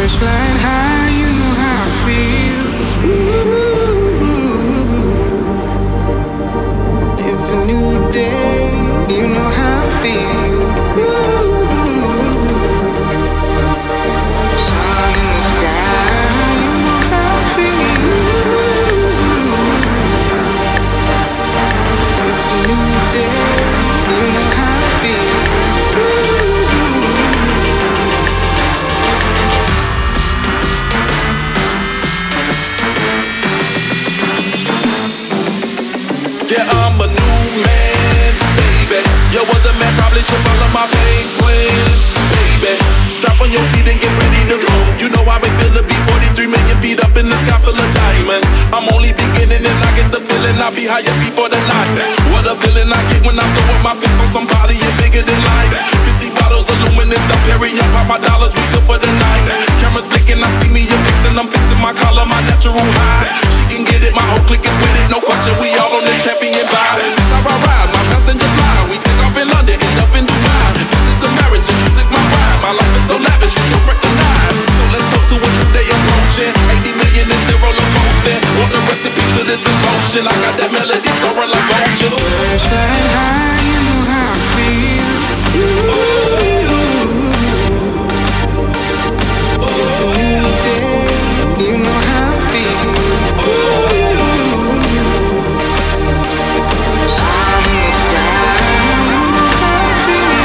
Birds flying high, you know how I feel. It's a new day, you know how I feel. Sun in the sky, you know how I feel. It's a new day, you know how I feel. Yeah, I'm a new man, baby. Your other man probably should follow my pain plan, baby. Strap on your seat and get ready to go. You know I've been feeling be 43 million feet up in the sky full of diamonds. I'm only beginning and I get the feeling I'll be higher before the night. What a feeling I get when I'm throwing my fist on somebody and bigger than life. 50 bottles of luminous, the Perry, I pop my dollars, we good for the night. Cameras flicking, I see me, you're mixing, I'm fixing my collar, my natural high. She can get it, my whole clique is with it, no question, we all on this champion vibe. This how I ride, my passenger fly. We take off in London, end up in Dubai. This is a marriage, and music my ride. My life is so lavish, you don't recognize. So let's toast to a new day approaching. 80 million is the roller coaster. Want the recipe to this devotion? I got that melody soaring like ocean. Birds flying high, you know how I feel. It's a new day, you know how I feel. Sun in the sky, you know how I feel.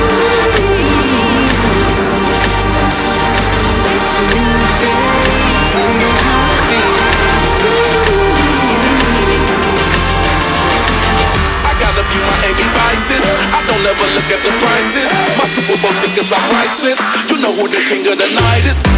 It's a new day, you know how I feel. I gotta view my AB vices. I don't ever look at the prices. My Super Bowl tickets are priceless. You know who the king of the night is.